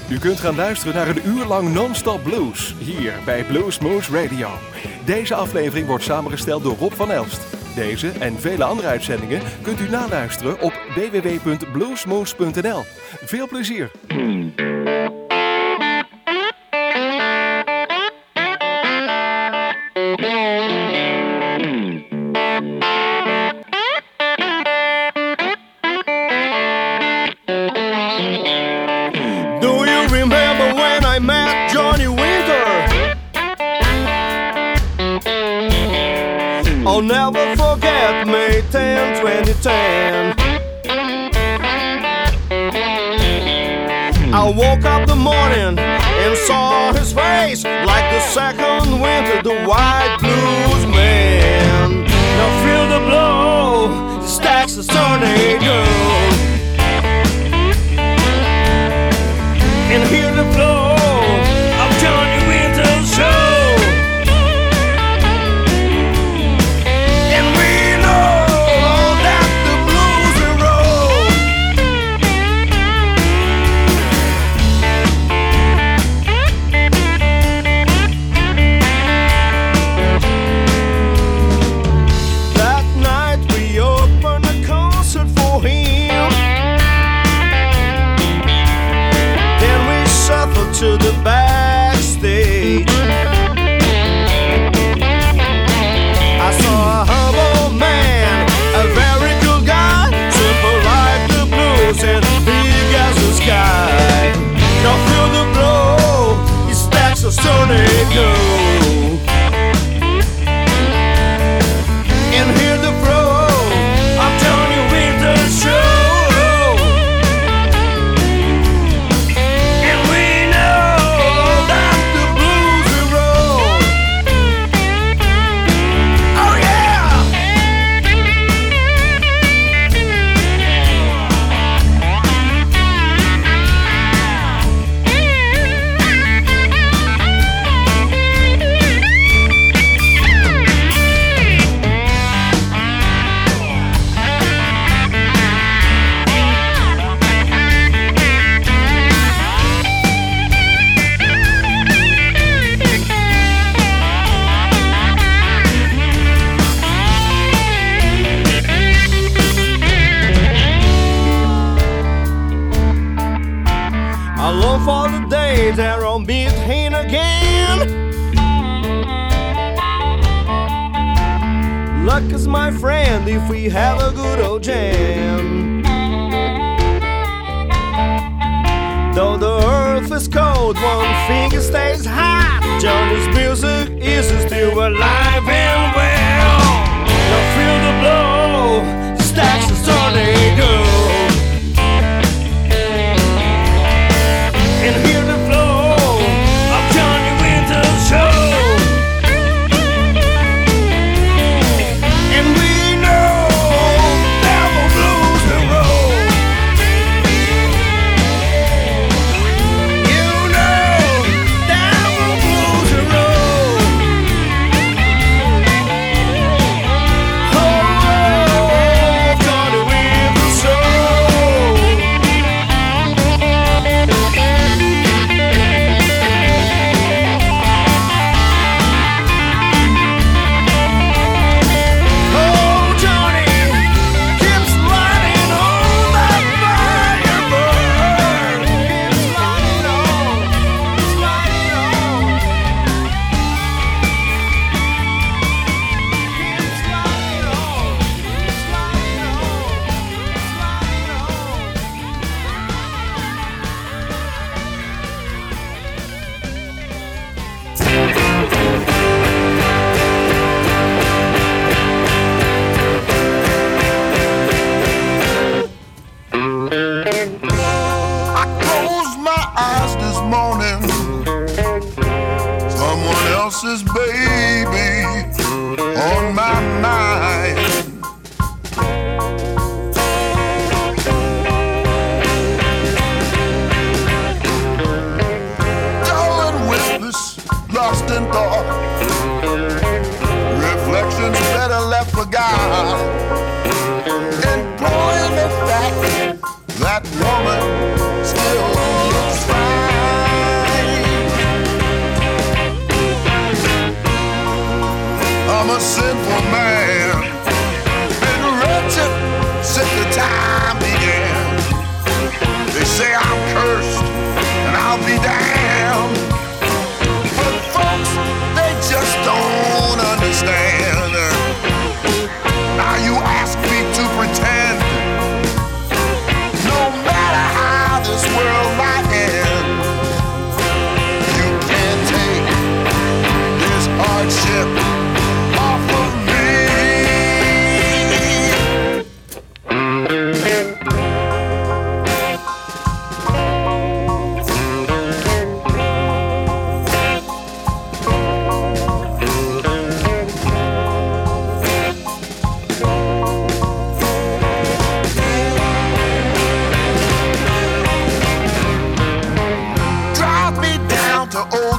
U kunt gaan luisteren naar een uur lang non-stop blues, hier bij Bluesmoose Radio. Deze aflevering wordt samengesteld door Rob van Elst. Deze en vele andere uitzendingen kunt u naluisteren op www.bluesmoose.nl. Veel plezier! I'll never forget May 10, 2010. I woke up the morning and saw his face like the second winter, the white blues man. Now feel the blow, stacks the tornado, and hear the flow of Johnny Winter's show. To the backstage, I saw a humble man, a very cool guy, simple like the blues and big as the sky. Now feel the blow, he stacks a tornado, and hear the flow of Johnny Winter's show. For the day that I'll meet him again. Luck is my friend if we have a good old jam. Though the earth is cold, one finger stays hot. Johnny's music is still alive and well. Now feel the blow, stacks the tornado, and hear the flow of Johnny Winter's show. And we know devil blues and roll. You know devil blues and roll. Oh, Johnny Winter's show. Else's baby on my mind. Darling, witness, lost in thought. Reflections better left for God. Employing the fact that woman still looks fine.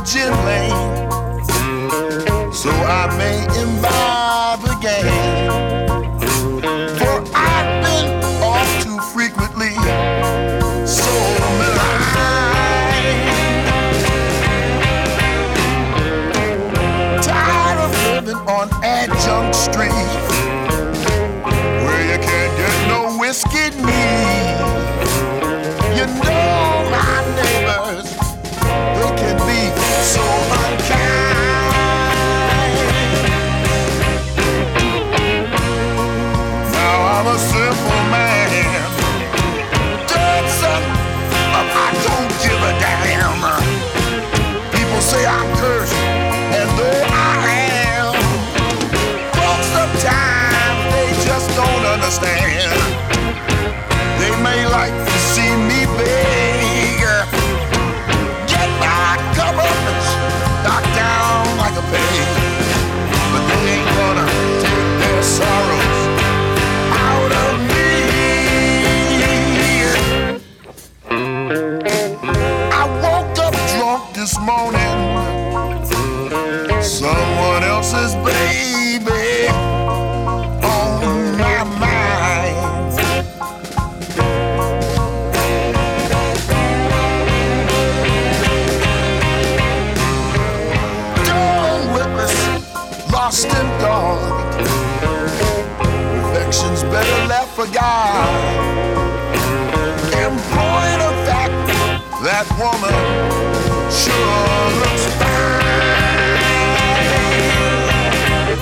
gin lane, so I may imbibe again. For I've been off too frequently, so maligned. Tired of living on Adjunct Street, where you can't get no whiskey neat. You know my neighbors, they can be so unkind. Now I'm a simple man, dead son, but I don't give a damn. People say I'm cursed, and though I am, folks sometimes they just don't understand. They may like to see me beg, get my governments knocked down like a peg, but they ain't gonna take their sorrows out of me. I woke up drunk this morning, someone else's baby on my mind. Lost and dark, affection's better left for God. In point of fact, that woman sure looks fine.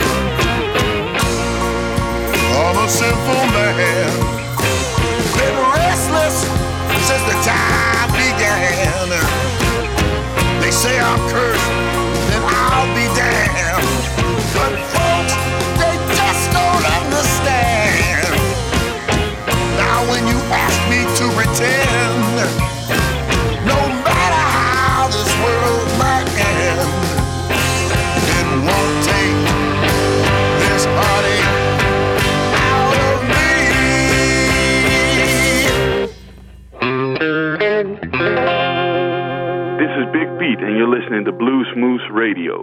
I'm a simple man, been restless since the time began. They say I'm cursed, then I'll be damned. But folks, they just don't understand. Now when you ask me to pretend, no matter how this world might end, it won't take this heartache out of me. This is Big Pete and you're listening to Blues Moose Radio.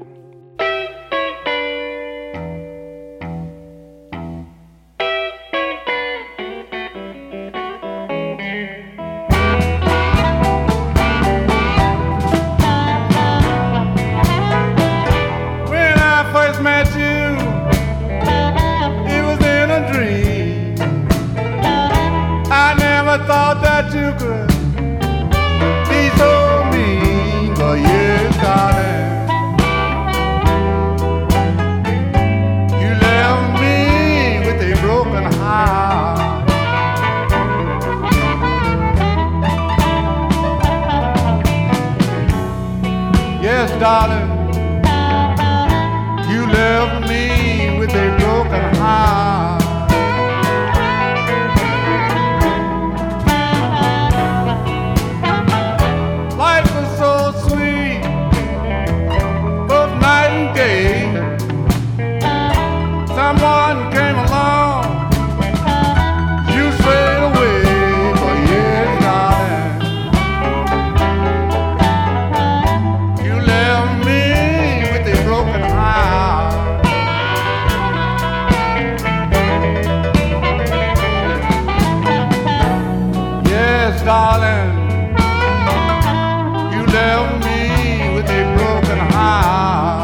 Thought that you could be so mean, but yes, darling, you left me with a broken heart. Yes, darling, you left me with a broken heart. Someone came along, you strayed away, but yes, darling, you left me with a broken heart. Yes, darling, you left me with a broken heart.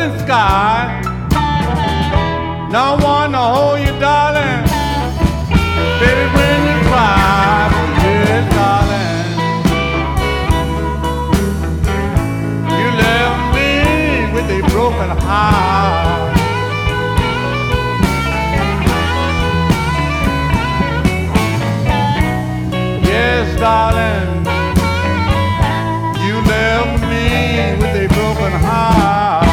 earthly sky. No one to hold you, darling. Baby, when you cry, yes, darling. You left me with a broken heart. Yes, darling. You left me with a broken heart.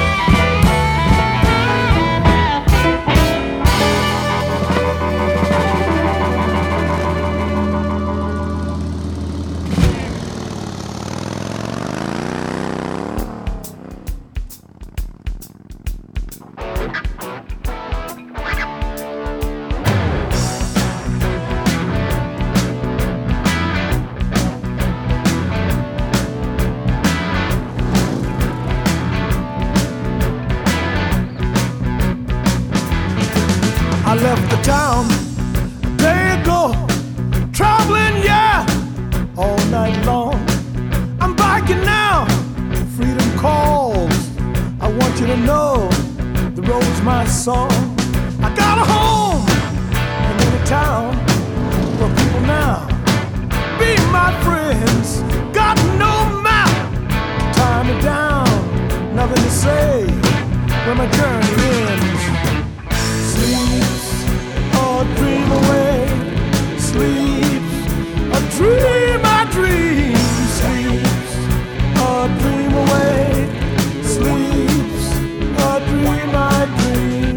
I left the town a day ago, traveling, yeah, all night long. I'm biking now, freedom calls. I want you to know the road's my song. I got a home in a town where people now be my friends. Got no map to tie me down, nothing to say when my journey ends. Sleeps or dream away, sleeps or dream I dream. Sleeps or dream away, sleeps or dream I dream.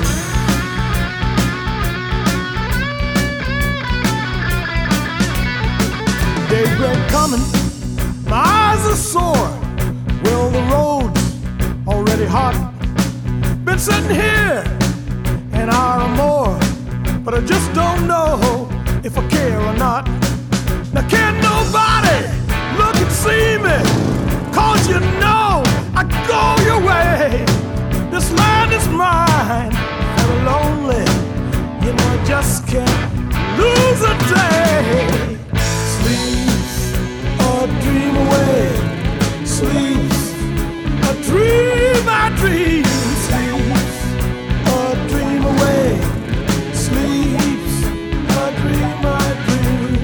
Daybreak coming, my eyes are sore. Well, the road's already hot. Been sitting here an hour or more, but I just don't know if I care or not. Now can't nobody look and see me, 'cause you know I go your way. This land is mine, very lonely. You know I just can't lose a day. Sleeps or dream away, sleeps or dream I dream. Sleeps or dream away, sleeps or dream I dream.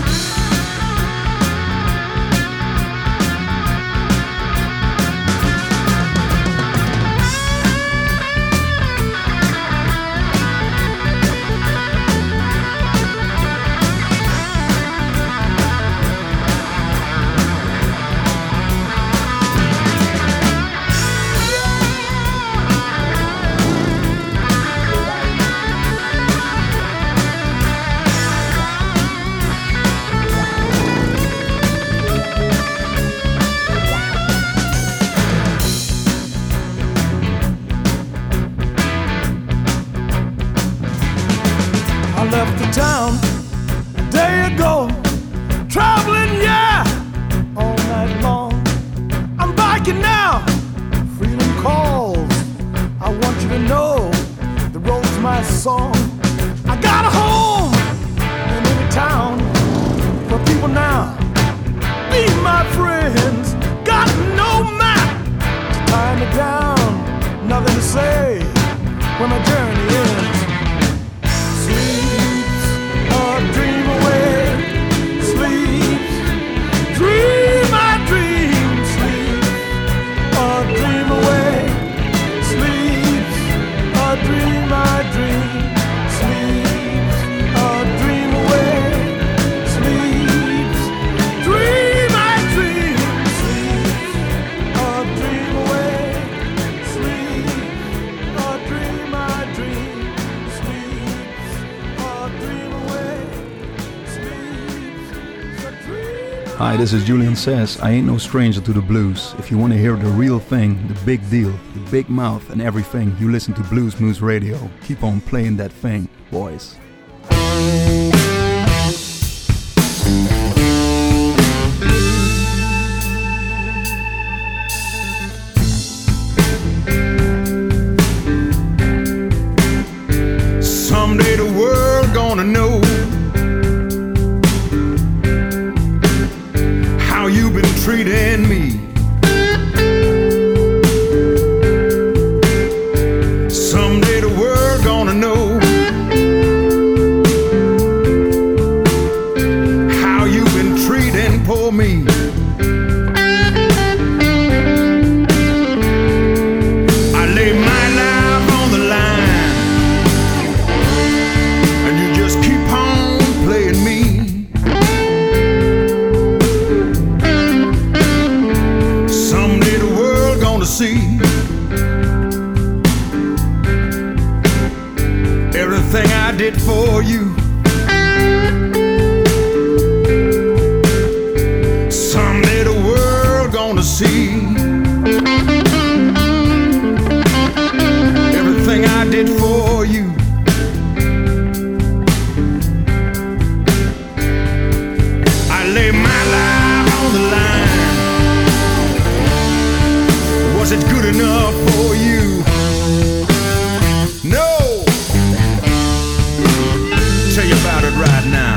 I left the town a day ago, traveling, yeah, all night long. I'm biking now, freedom calls. I want you to know the road's my song. I got a home in any town where people now be my friends. Got no map to tie me down, nothing to say when my journey ends. Sleeps or dream away, sleeps, dream I dream. Sleeps or dream away, sleeps or dream I dream. Sleeps or dream away, sleeps, dream I dream. Sleeps or dream away, sleeps or dream I dream. Hi, this is Julian Says. I ain't no stranger to the blues. If you want to hear the real thing, the big deal, the big mouth and everything, you listen to Blues Moose Radio. Keep on playing that thing, boys. Someday the world gonna know how you've been treating me. see everything I did for you. Someday the world gonna see everything I did for you. I lay my life on the line. Was it good enough for you? No. Tell you about it right now.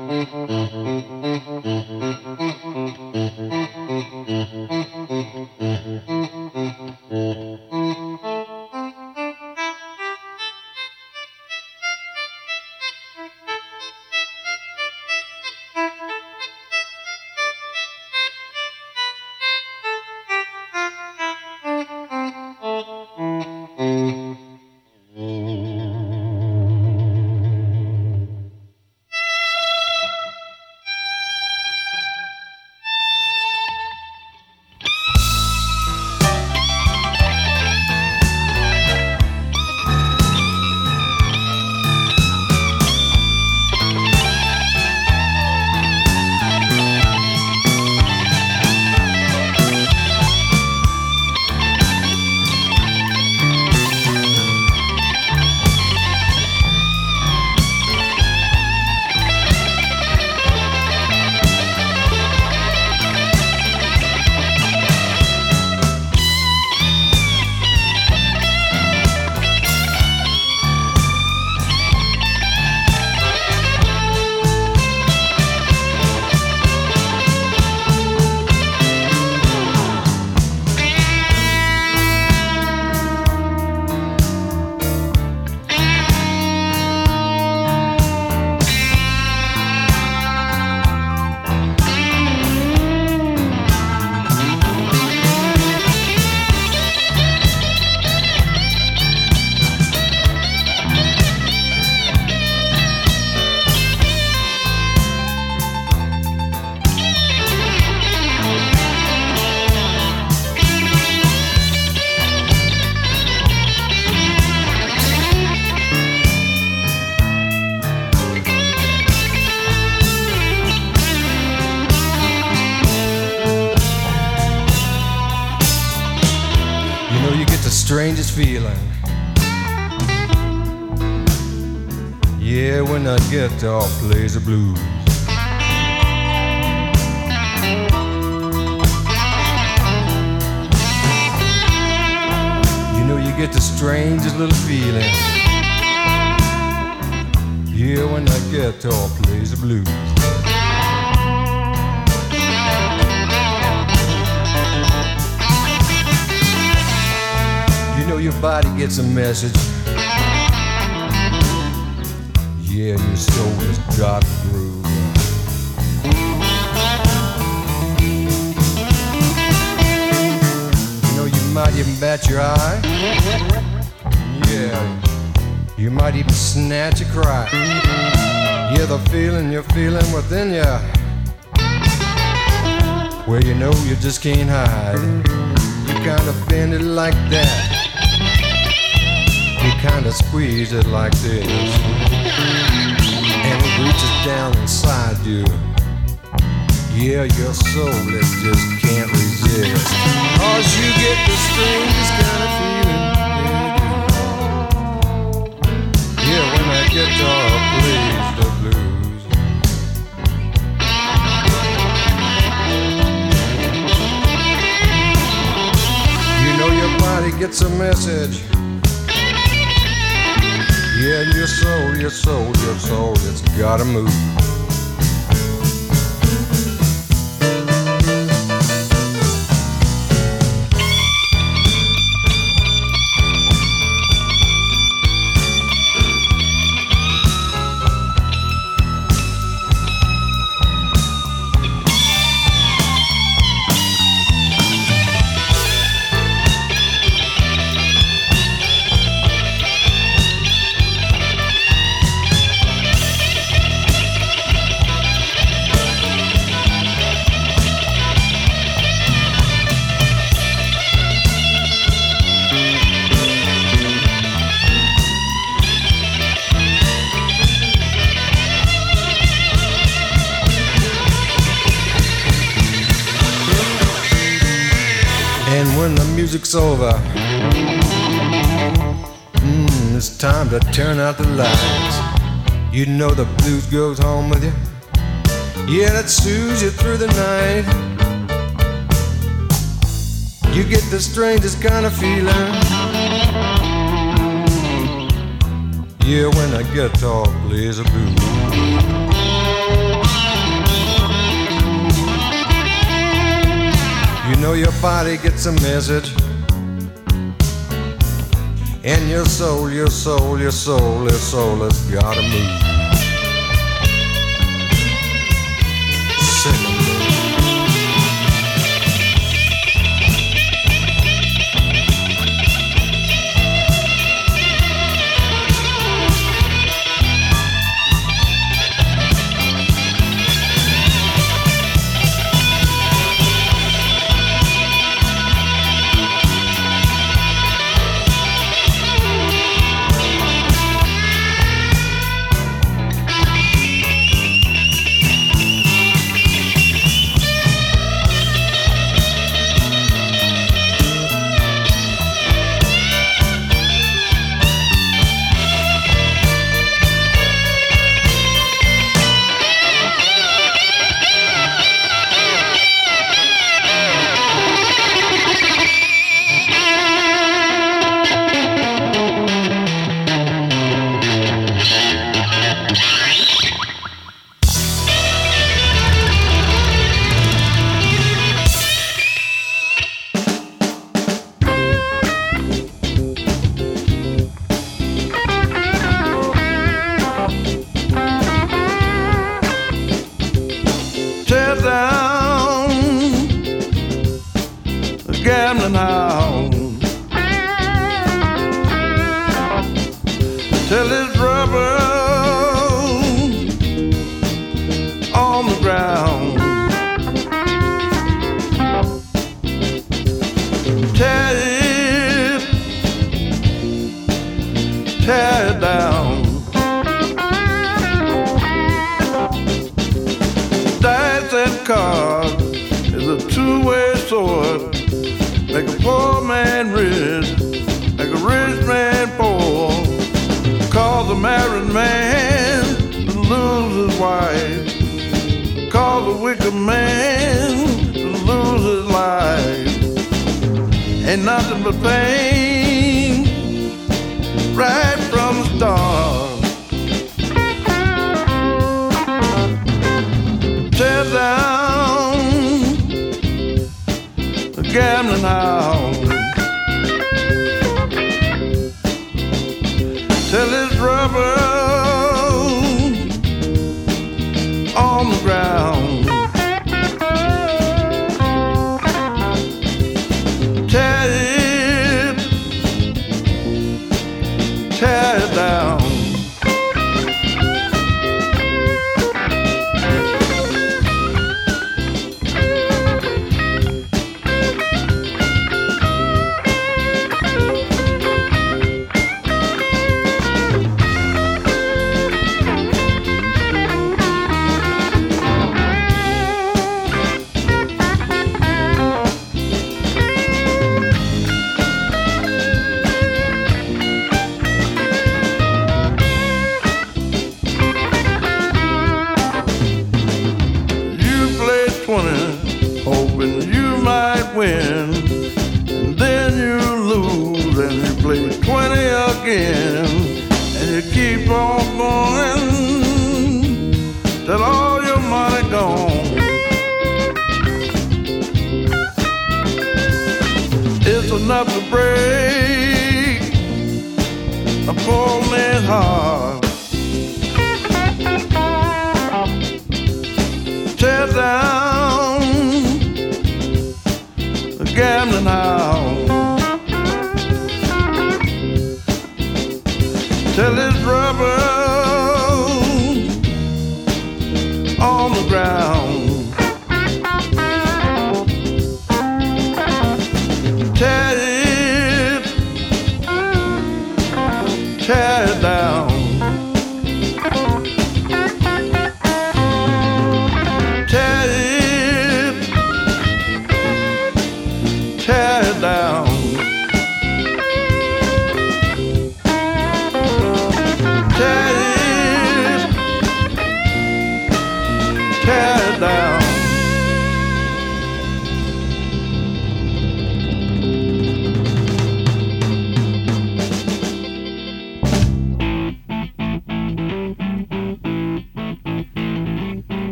strangest feeling. Yeah, when that guitar plays the blues. You know you get the strangest little feeling. Yeah, when that guitar plays the blues. You know your body gets a message. Yeah, and your soul has got the groove. You know you might even bat your eye. Yeah, you might even snatch a cry. Yeah, the feeling you're feeling within you, where you know you just can't hide. You kind of bend it like that. You kind of squeeze it like this, and it reaches down inside you. Yeah, your soul it just can't resist, 'cause you get the strangest kind of feeling. Yeah, when that guitar plays the blues. You know your body gets a message. Yeah, and your soul, it's gotta move. When the music's over, it's time to turn out the lights. You know the blues goes home with you. Yeah, that soothes you through the night. You get the strangest kind of feeling. Yeah, when that guitar plays a blues. Everybody gets a message. And your soul, your soul, your soul, your soul has gotta move. Sing 'em. Gambling house till it's rubber on the ground. Tear it down. Dice and cards is a two-way sword. Make a poor man rich, make a rich man poor. Cause a married man to lose his wife. Cause a wicked man to lose his life. Ain't nothing but pain right from the start. Tear down the gambling house till it's rubber on the ground. Tear it down. Hoping you might win, and then you lose, and you play 20 again, and you keep on going till all your money gone. It's enough to break a poor man's heart. Tear down the gambling house till it's rubber on the ground. Tear it down. Tear it down. Tear it down.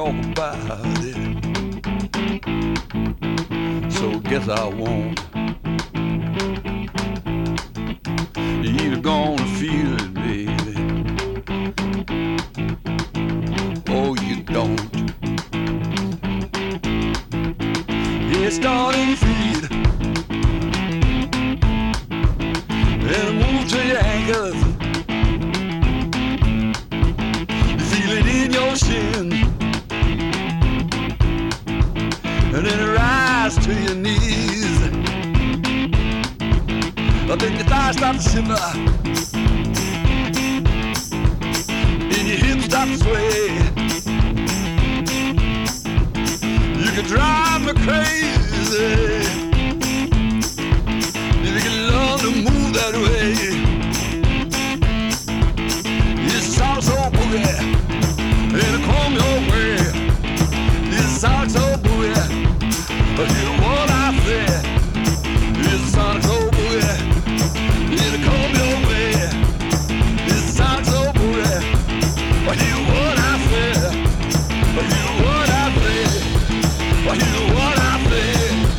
talk about it. So guess I won't. You're gonna feel it, baby. Oh, you don't. It's starting to feed and move to your ankles. You feel it in your shin, and then it rise to your knees. I think your thighs start to shiver, and your hips start to sway. You can drive me crazy if you can learn to move that way. It's salsa boogie, and it come your way. It's salsa boogie, but you know what I say. It's salsa boogie, and it come your way. It's salsa boogie, but you know what I say. But you know what I say. But you know what I say.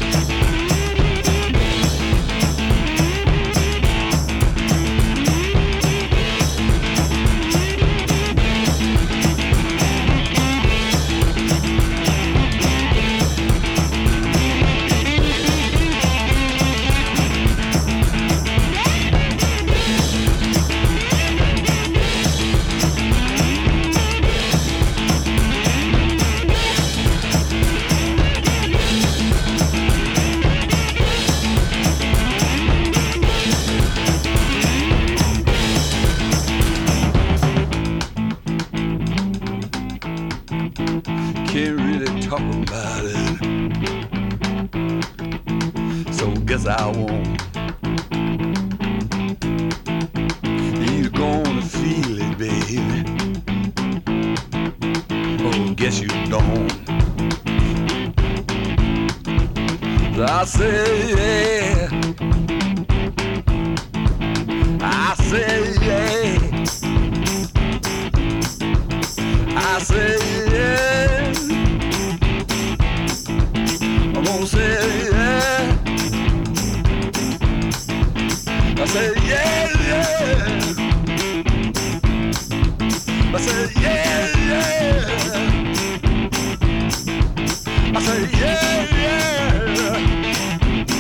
Can't really talk about it, so guess I won't. You're gonna feel it, baby. Oh, guess you don't. I say yeah, I say yeah, I say yeah. I'm gonna say yeah. I say yeah, yeah. I say yeah, yeah. I say yeah, yeah.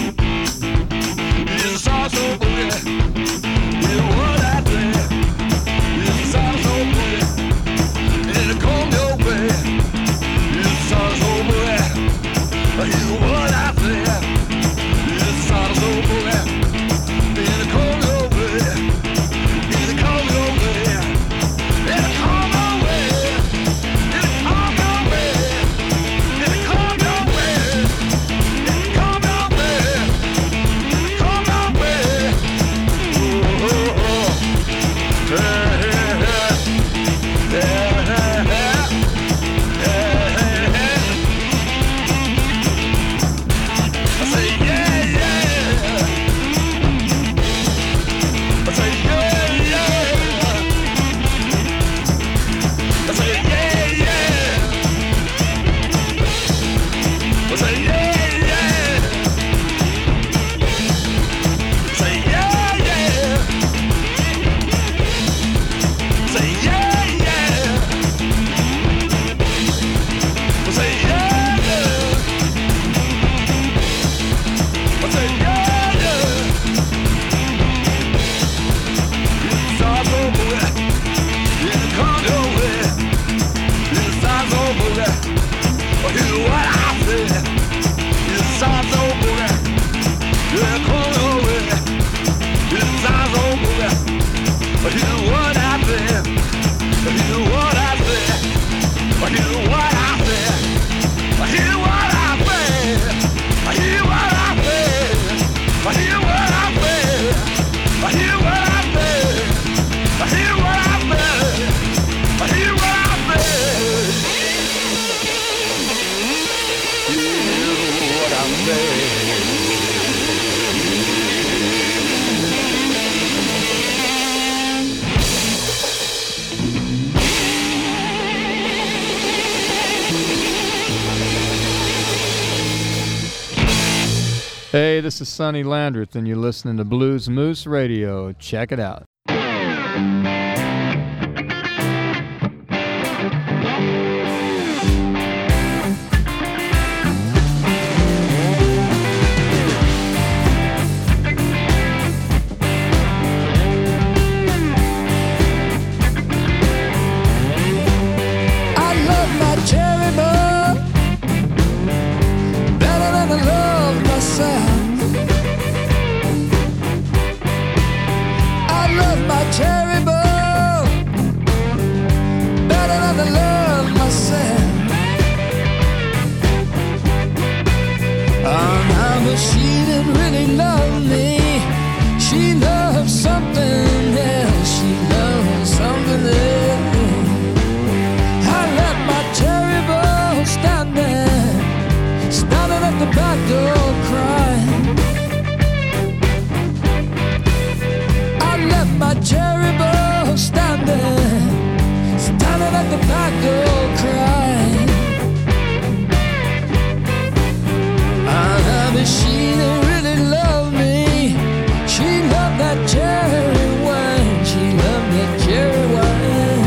Hey, this is Sonny Landreth, and you're listening to Blues Moose Radio. Check it out. She didn't really love me. She loved something else. She loved something else. I left my cherry bowl standing at the back door crying. I left my cherry bowl standing at the back door crying. She didn't really love me. She loved that cherry wine. She loved that cherry wine.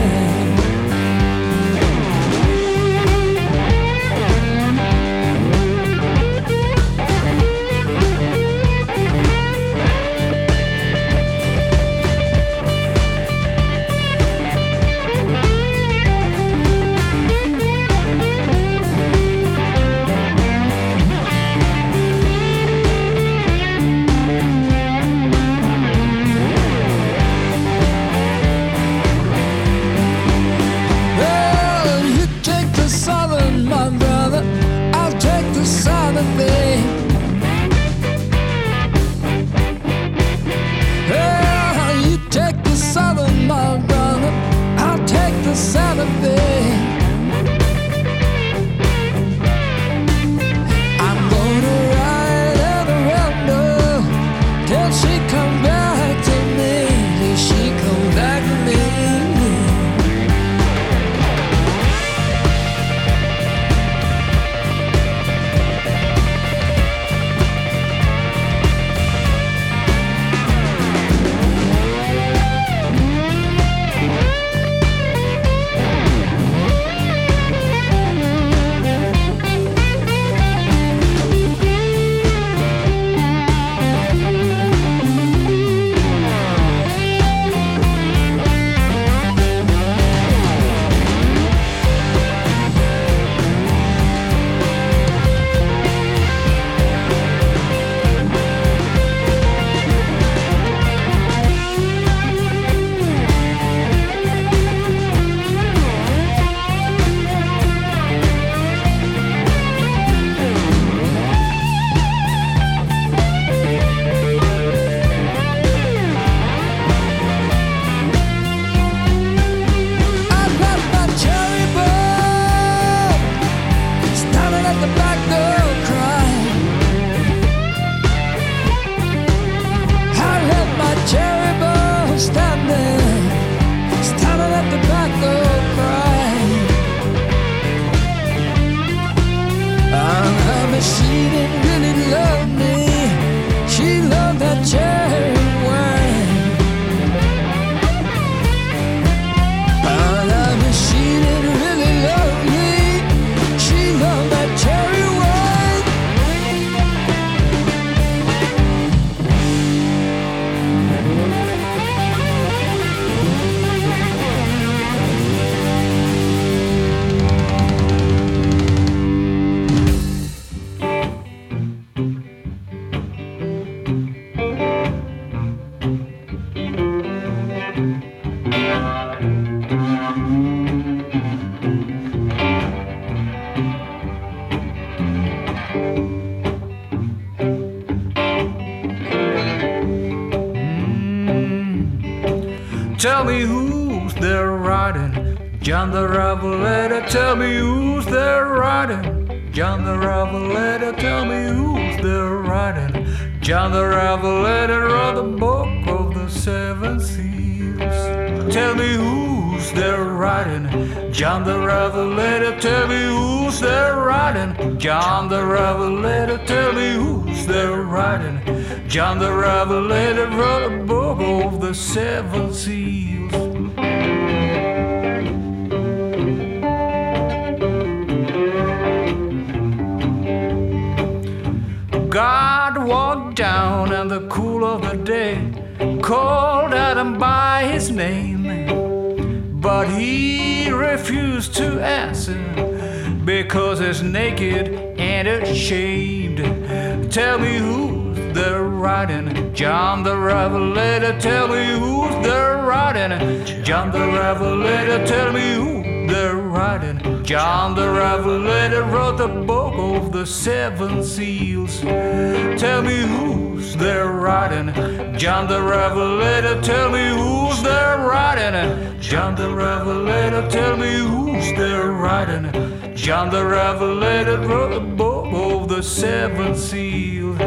Tell me who's there riding, John the Revelator. Tell me who's there riding, John the Revelator. Tell me who's there riding, John the Revelator, of the book of the seven seals. Tell me who's who's there riding? John the Revelator, tell me who's there riding? John the Revelator, tell me who's there riding? John the Revelator wrote a book of the 7 seals. God walked down in the cool of the day, called Adam by his name, but he refused to answer because he's naked and ashamed. Tell me who's there riding? John the Revelator, tell me who's there riding? John the Revelator, tell me who's there riding? John the Revelator wrote the book of the 7 seals. Tell me who's there riding? John the Revelator, tell me who's there riding? John the Revelator, tell me who's there riding? John the Revelator wrote the book of the 7 seals.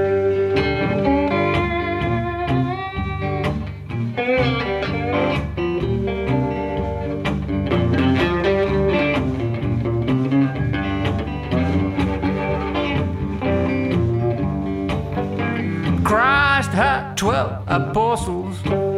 Christ had 12 apostles,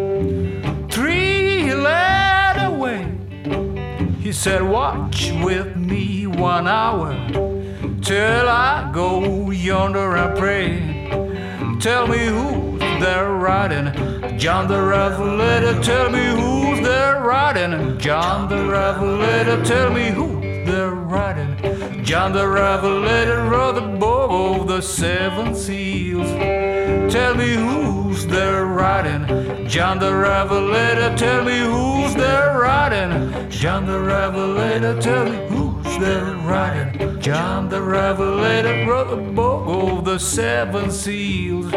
3 he led away. He said, watch with me 1 hour till I go yonder and pray. Tell me who's there riding? John the Revelator, tell me who's there riding? John the Revelator, tell me who's there riding? John the Revelator wrote the book of the 7 seals. Tell me who's there riding? John the Revelator, tell me who's there riding? John the Revelator, tell me who's there riding? John the Revelator wrote the book of the 7 seals.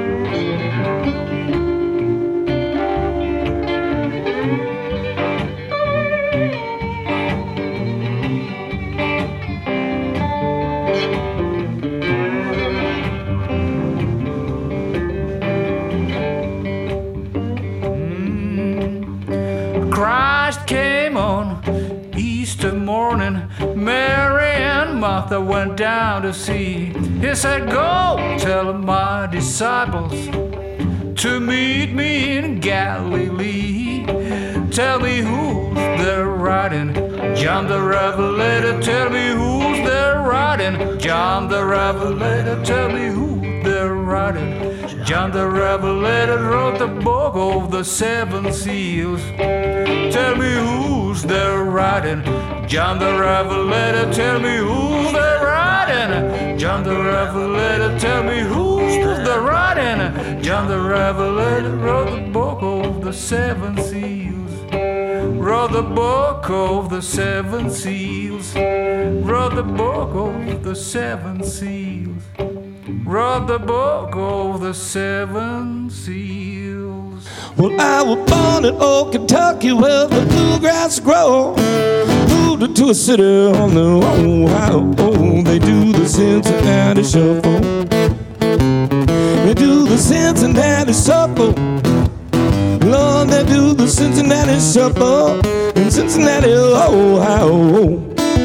Christ came on Easter morning. Mary and Martha went down to see. He said, go tell my disciples to meet me in Galilee. Tell me who's there riding? John the Revelator, tell me who's there riding? John the Revelator, tell me who's there riding? John the Revelator wrote the book of the 7 seals. Tell me who's there riding? John the Revelator, tell me who's there riding? John the Revelator, tell me who's there riding? John the Revelator wrote the book of the 7 seals. Wrote the book of the 7 seals. Wrote the book of the 7 seals. Wrote the book of the 7 seals. Well, I was born in old Kentucky where the bluegrass grow. Moved to a city on the Ohio. Oh, they do the Cincinnati shuffle. They do the Cincinnati shuffle. Lord, they do the Cincinnati shuffle in Cincinnati, Ohio.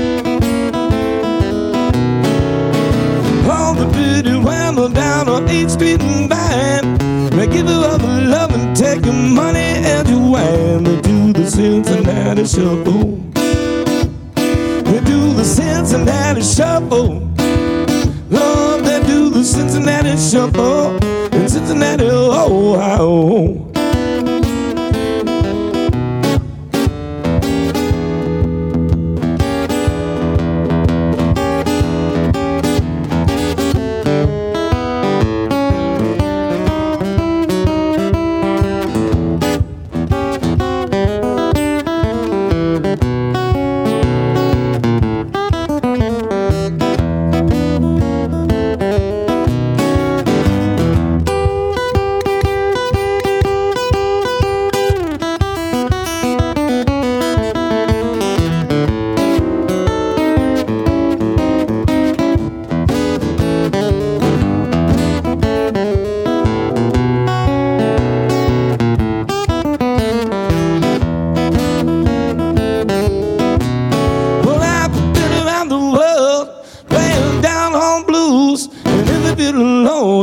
All the pretty women down on 8th Street and Vine, they give you all the love and take your money and your wine. They do the Cincinnati shuffle. They do the Cincinnati shuffle. Lord, they do the Cincinnati shuffle in Cincinnati, Ohio.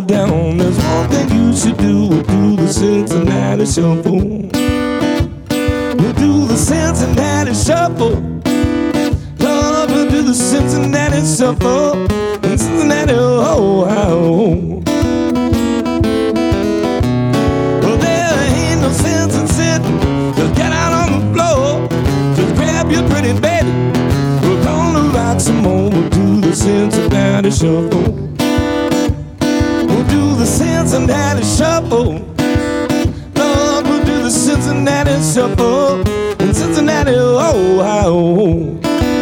slow down. There's one thing you should do. We'll do the Cincinnati Shuffle. We'll do the Cincinnati Shuffle. Lord, we'll do the Cincinnati Shuffle. In Cincinnati, Ohio. Well, there ain't no sense in sitting. Just get out on the floor. Just grab your pretty baby. We're gonna rock some more. We'll do the Cincinnati Shuffle. We'll do the Cincinnati Shuffle. Lord, we'll do the Cincinnati Shuffle. In Cincinnati, Ohio.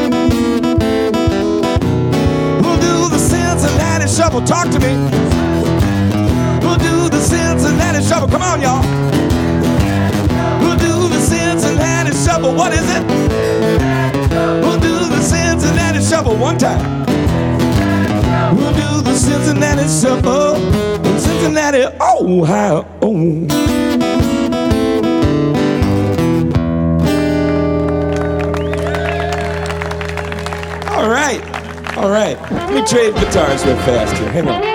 Cincinnati Shuffle, talk to me. We'll do the Cincinnati Shuffle, come on y'all. We'll do the Cincinnati Shuffle, what is it? We'll do the Cincinnati Shuffle one time. We'll do the Cincinnati Shuffle in Cincinnati, Ohio. All right, let me trade guitars real fast here, hang on.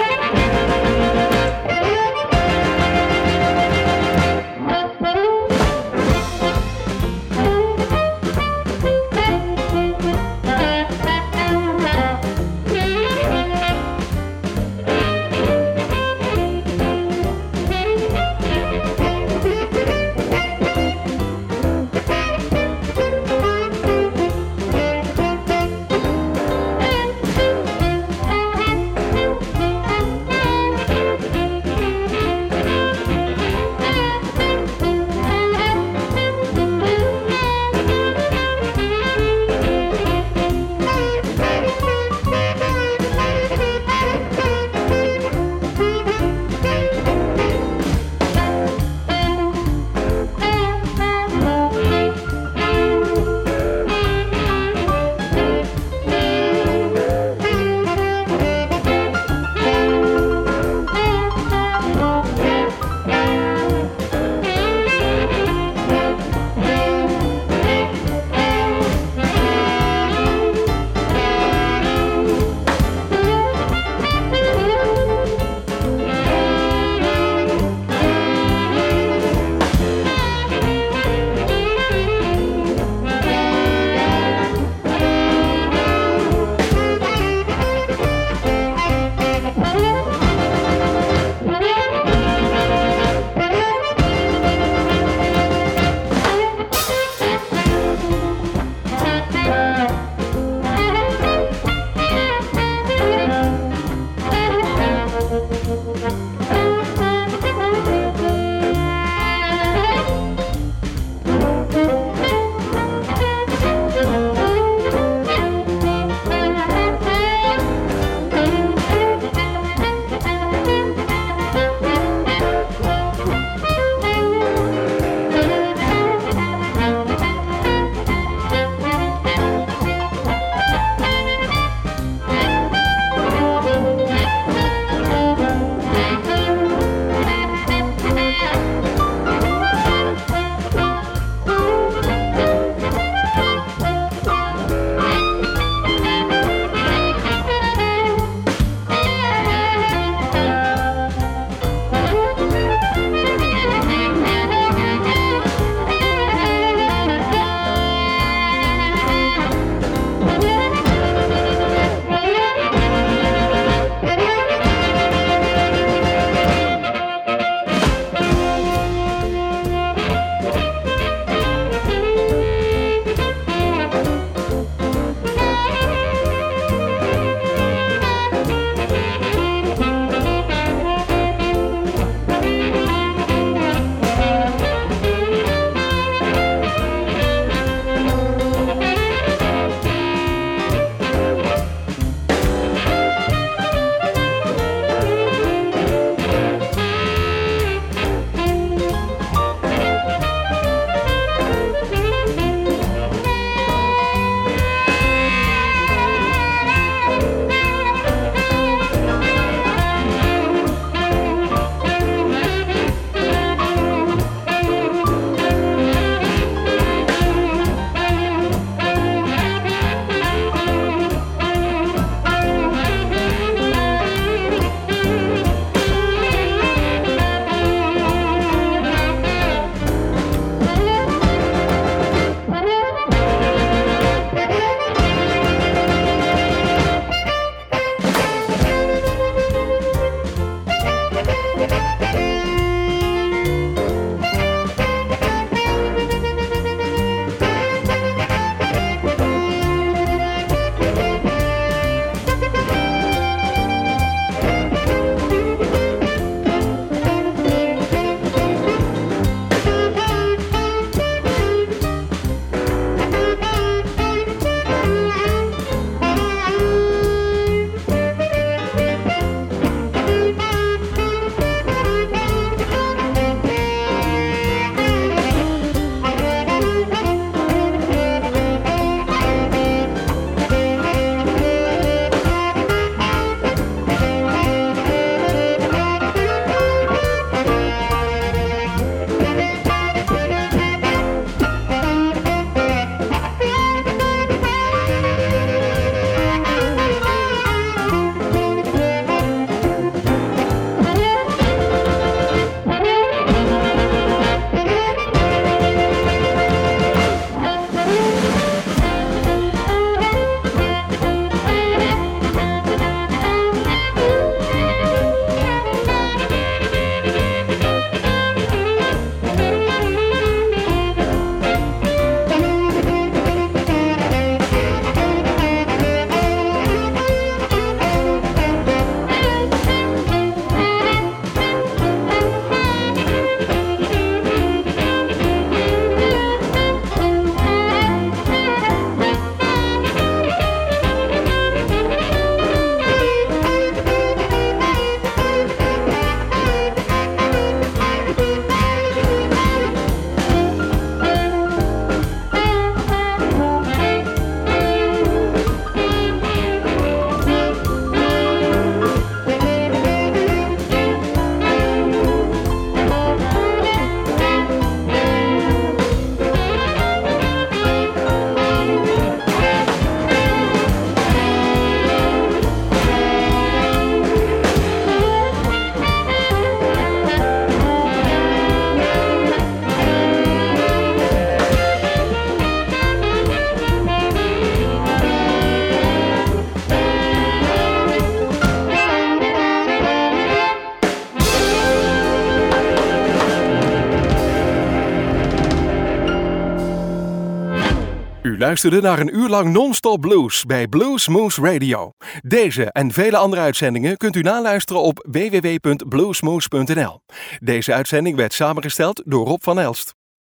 U luisterde naar een uur lang non-stop blues bij Blues Moose Radio. Deze en vele andere uitzendingen kunt u naluisteren op www.bluesmoose.nl. Deze uitzending werd samengesteld door Rob van Elst.